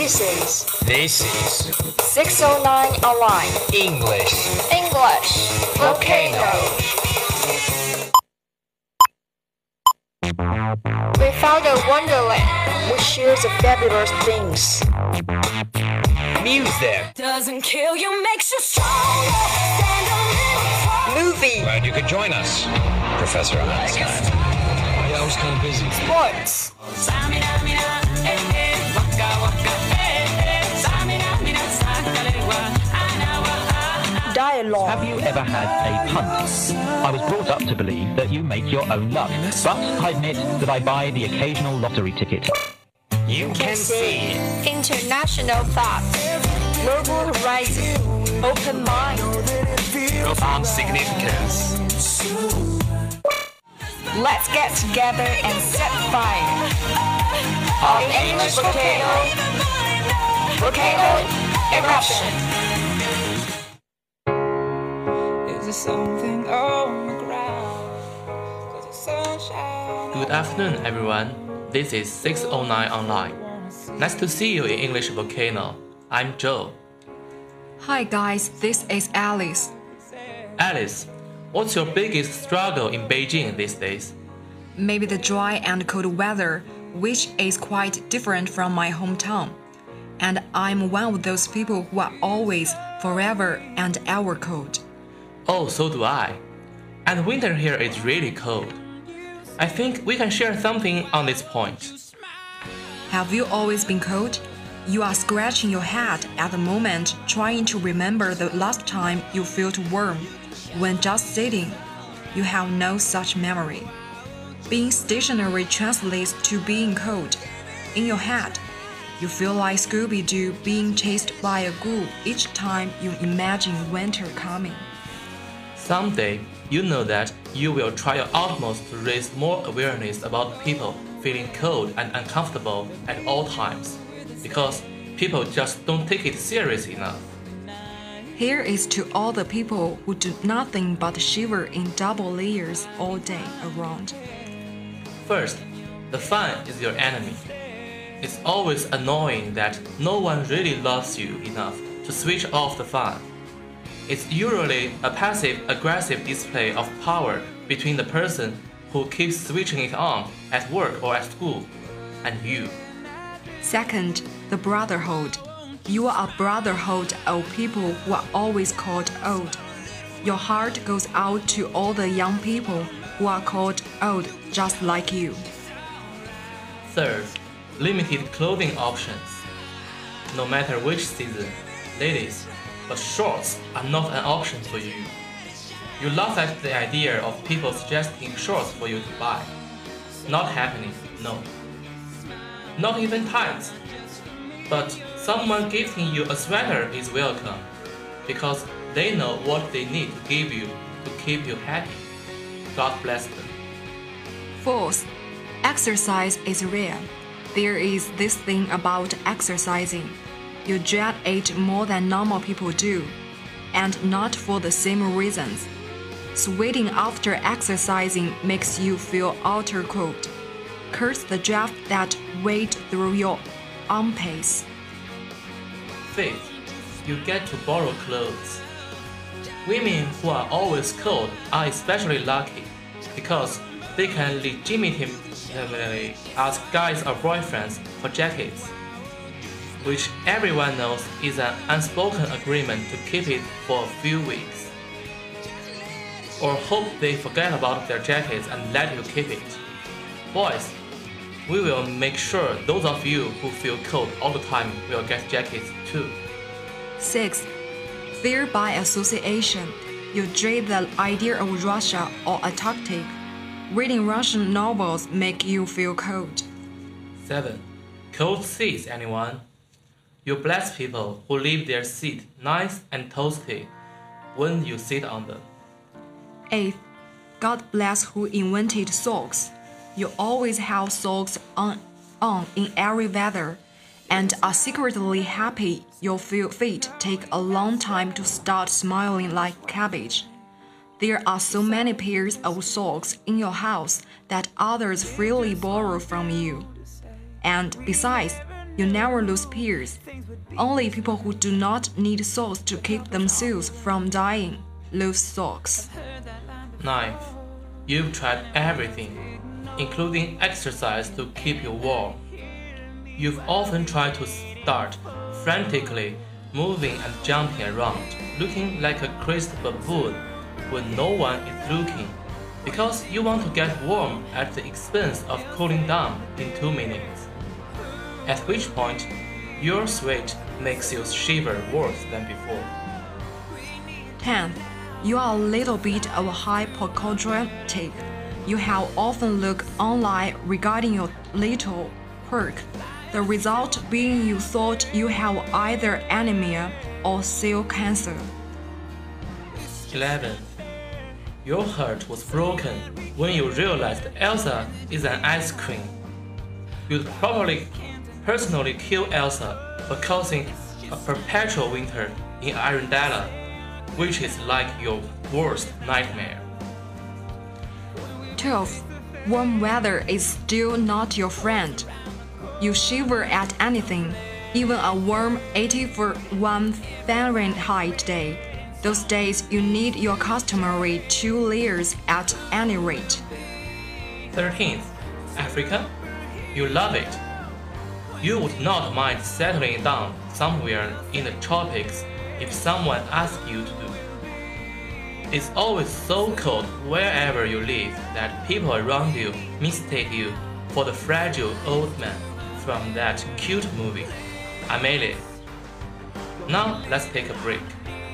This is 609 Online English Volcano. We found a wonderland which shares the fabulous things. music, Doesn't kill you, makes you stronger. Stand a little Movie, glad you could join us, Professor Einstein. Yeah, I was kind of busy. sports, dialogue. Have you ever had a punt? I was brought up to believe that you make your own luck, but I admit that I buy the occasional lottery ticket. You can see International thought, global horizon, open mind. profound significance. Let's get together and set fire. On English volcano eruption. Is there something on the ground? Does the sunshine? Good afternoon, everyone. This is 609 Online. Nice to see you in English Volcano. I'm Joe. Hi guys, this is Alice. Alice, what's your biggest struggle in Beijing these days? Maybe the dry and cold weather, which is quite different from my hometown. And I'm one of those people who are always, forever and ever cold. Oh, so do I. And winter here is really cold. I think we can share something on this point. Have you always been cold? You are scratching your head at the moment, trying to remember the last time you felt warm. When just sitting, you have no such memory. Being stationary translates to being cold. In your head, you feel like Scooby-Doo being chased by a ghoul each time you imagine winter coming. Someday, you know that you will try your utmost to raise more awareness about people feeling cold and uncomfortable at all times, because people just don't take it serious enough. Here is to all the people who do nothing but shiver in double layers all day around. First, the fun is your enemy. It's always annoying that no one really loves you enough to switch off the fun. It's usually a passive-aggressive display of power between the person who keeps switching it on at work or at school and you. Second, the brotherhood. You are a brotherhood of people who are always called old. Your heart goes out to all the young people who are called old just like you. Third, limited clothing options. No matter which season, ladies, but shorts are not an option for you. You laugh at the idea of people suggesting shorts for you to buy. Not happening, no. Not even tights. But someone gifting you a sweater is welcome, because they know what they need to give you to keep you happy. God bless them. Fourth, exercise is rare. There is this thing about exercising. You dread it more than normal people do, and not for the same reasons. Sweating after exercising makes you feel outer cold. Curse the draft that wade through your armpits. Fifth, you get to borrow clothes. Women who are always cold are especially lucky, because they can legitimately ask guys or boyfriends for jackets, which everyone knows is an unspoken agreement to keep it for a few weeks. Or hope they forget about their jackets and let you keep it. Boys, we will make sure those of you who feel cold all the time will get jackets too. Sixth, fear by association. You dread the idea of Russia or a tactic. Reading Russian novels make you feel cold. 7. Cold seats, anyone? You bless people who leave their seat nice and toasty when you sit on them. 8th, God bless who invented socks. You always have socks on in every weather, and are secretly happy your feet take a long time to start smiling like cabbage. There are so many pairs of socks in your house that others freely borrow from you. And besides, You never lose peers. Only people who do not need socks to keep themselves from dying lose socks. 9th, you've tried everything, including exercise to keep you warm. You've often tried to start frantically moving and jumping around, looking like a crazed baboon when no one is looking, because you want to get warm at the expense of cooling down in 2 minutes. At which point, your sweat makes you shiver worse than before. 10th, you are a little bit of a hypochondriac. You have often looked online regarding your little quirk, the result being you thought you have either anemia or cell cancer. 11. Your heart was broken when you realized Elsa is an ice cream. You'd probably personally kill Elsa for causing a perpetual winter in Arendelle, which is like your worst nightmare. 12th, warm weather is still not your friend. You shiver at anything, even a warm 81 Fahrenheit day. Those days you need your customary 2 layers at any rate. 13th, Africa? You love it. You would not mind settling down somewhere in the tropics if someone asked you to do. It's always so cold wherever you live that people around you mistake you for the fragile old man from that cute movie, Amelie. Now let's take a break.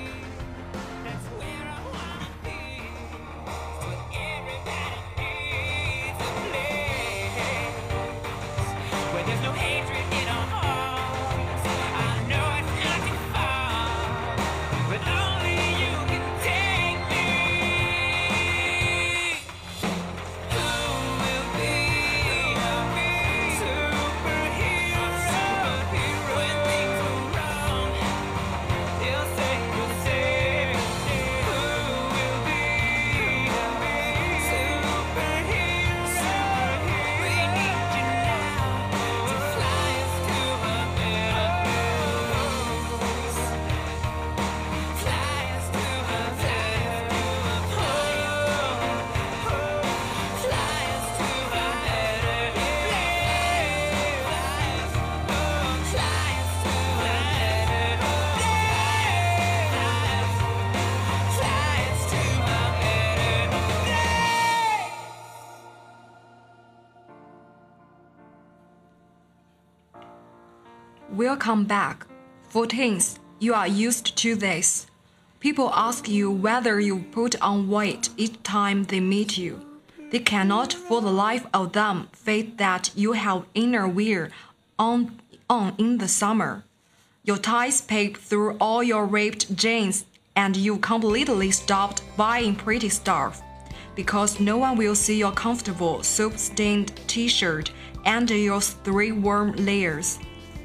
Welcome back. 14th, you are used to this. People ask you whether you put on weight each time they meet you. They cannot for the life of them faith that you have inner wear on in the summer. Your ties peep through all your ripped jeans and you completely stopped buying pretty stuff because no one will see your comfortable soap-stained t-shirt and your 3 warm layers.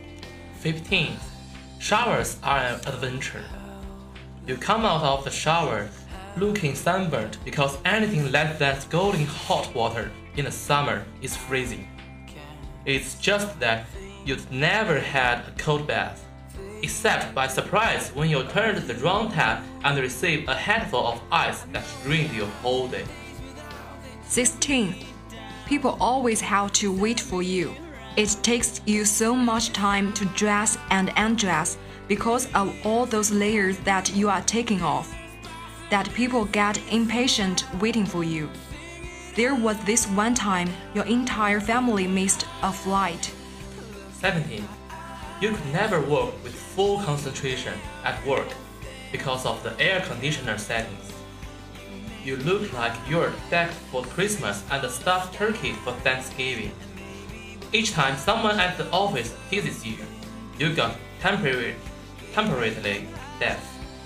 15th, showers are an adventure. You come out of the shower looking sunburnt because anything less than scalding hot water in the summer is freezing. It's just that you'd never had a cold bath, except by surprise when you turned the wrong tap and received a handful of ice that ruined your whole day. 16. People always have to wait for you. It takes you so much time to dress and undress because of all those layers that you are taking off, that people get impatient waiting for you. There was this one time your entire family missed a flight. 17. You could never work with full concentration at work because of the air conditioner settings. You look like you're decked for Christmas and a stuffed turkey for Thanksgiving. Each time someone at the office teases you, you got temporarily deaf.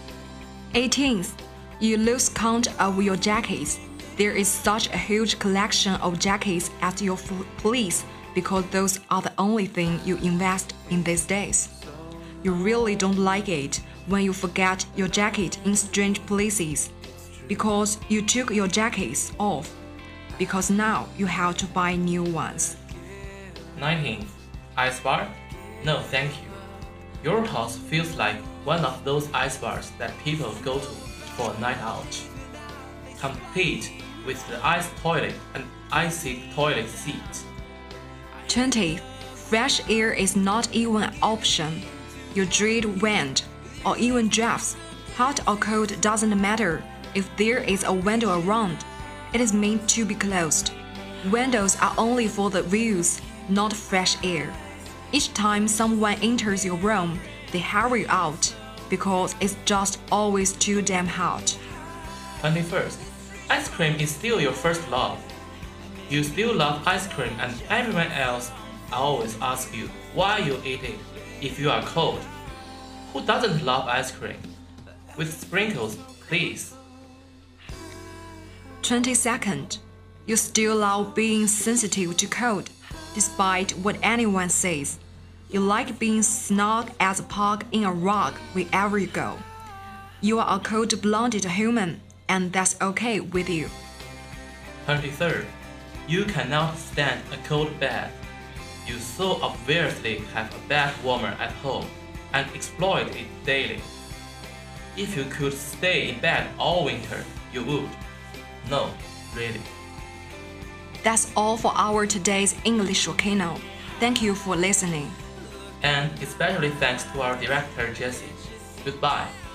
18th, you lose count of your jackets. There is such a huge collection of jackets at your place because those are the only thing you invest in these days. You really don't like it when you forget your jacket in strange places because you took your jackets off because now you have to buy new ones. 19th, ice bar? No, thank you. Your house feels like one of those ice bars that people go to for a night out, complete with the ice toilet and icy toilet seat. 20. Fresh air is not even an option. You dread wind, or even drafts. Hot or cold doesn't matter if there is a window around. It is meant to be closed. Windows are only for the views, not fresh air. Each time someone enters your room, they hurry out because it's just always too damn hot. 21st. Ice cream is still your first love. You still love ice cream and everyone else always asks you why you eat it if you are cold. Who doesn't love ice cream? With sprinkles, please. 22nd. You still love being sensitive to cold, despite what anyone says. You like being snug as a pug in a rug wherever you go. You are a cold-blooded human, and that's okay with you. 23rd. You cannot stand a cold bath. You so obviously have a bath warmer at home and exploit it daily. If you could stay in bed all winter, you would. No, really. That's all for our today's English Volcano. Thank you for listening. And especially thanks to our director Jessie. Goodbye.